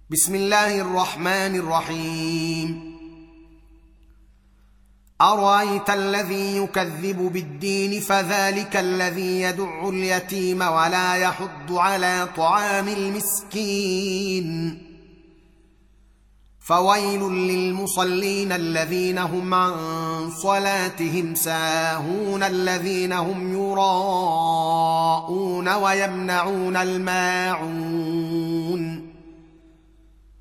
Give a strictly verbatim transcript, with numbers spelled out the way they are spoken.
بسم الله الرحمن الرحيم. أرأيت الذي يكذب بالدين فذلك الذي يدع اليتيم ولا يحض على طعام المسكين. فويل للمصلين الذين هم عن صلاتهم ساهون الذين هم يراءون ويمنعون الماعون.